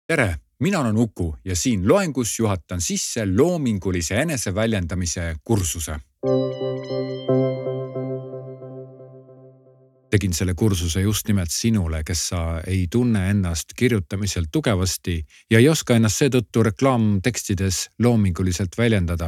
Tere, mina olen Uku ja siin loengus juhatan sisse loomingulise eneseväljendamise kursuse. Tegin selle kursuse just nimelt sinule, kes sa ei tunne ennast kirjutamisel tugevasti ja ei oska ennast seetõttu reklaamtekstides loominguliselt väljendada.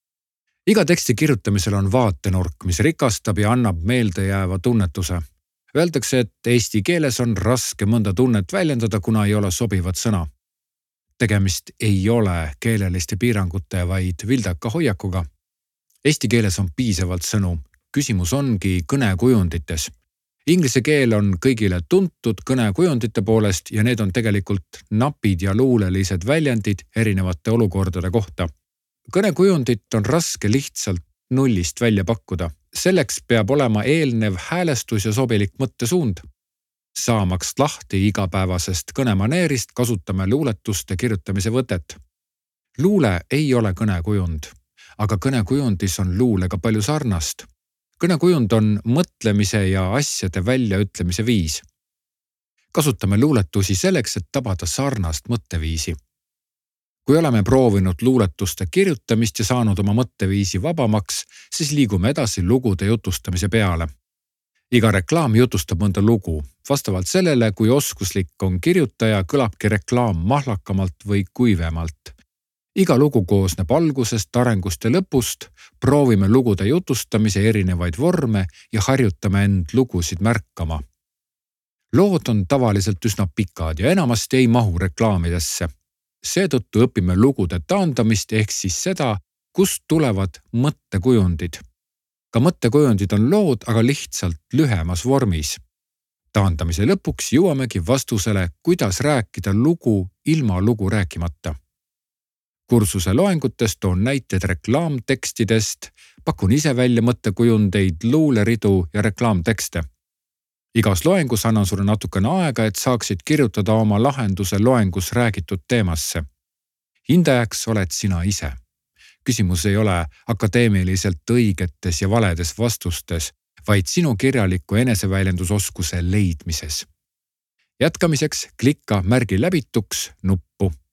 Iga teksti kirjutamisel on vaatenurk, mis rikastab ja annab meeldejääva tunnetuse. Öeldakse, et eesti keeles on raske mõnda tunnet väljendada, kuna ei ole sobivat sõna. Tegemist ei ole keeleliste piirangute, vaid vildaka hoiakuga. Eesti keeles on piisavalt sõnu. Küsimus ongi kõnekujundites. Inglise keel on kõigile tuntud kõnekujundite poolest ja need on tegelikult napid ja luulelised väljendid erinevate olukordade kohta. Kõnekujundit on raske lihtsalt nullist välja pakkuda. Selleks peab olema eelnev häälestus ja sobilik mõttesuund. Saamaks lahti igapäevasest kõnemaneerist kasutame luuletuste kirjutamise võtet. Luule ei ole kõnekujund, aga kõnekujundis on luulega palju sarnast. Kõnekujund on mõtlemise ja asjade väljaütlemise viis. Kasutame luuletusi selleks, et tabada sarnast mõtteviisi. Kui oleme proovinud luuletuste kirjutamist ja saanud oma mõtteviisi vabamaks, siis liigume edasi lugude jutustamise peale. Iga reklaam jutustab mõnda lugu. Vastavalt sellele, kui oskuslik on kirjutaja, kõlabki reklaam mahlakamalt või kuivemalt. Iga lugu koosneb algusest, arengust ja lõpust, proovime lugude jutustamise erinevaid vorme ja harjutame end lugusid märkama. Lood on tavaliselt üsna pikad ja enamasti ei mahu reklaamidesse. Seetõttu õpime lugude taandamist ehk siis seda, kust tulevad mõttekujundid. Ka mõttekujundid on lood, aga lihtsalt lühemas vormis. Taandamise lõpuks jõuamegi vastusele, kuidas rääkida lugu ilma lugu rääkimata. Kursuse loengutest on näited reklaamtekstidest, pakun ise välja mõttekujundeid, luuleridu ja reklaamtekste. Igas loengus annan sulle natukene aega, et saaksid kirjutada oma lahenduse loengus räägitud teemasse. Hindajaks oled sina ise. Küsimus ei ole akadeemiliselt õigetes ja valedes vastustes, vaid sinu kirjaliku eneseväljendusoskuse leidmises. Jätkamiseks klikka märgi läbituks nuppu.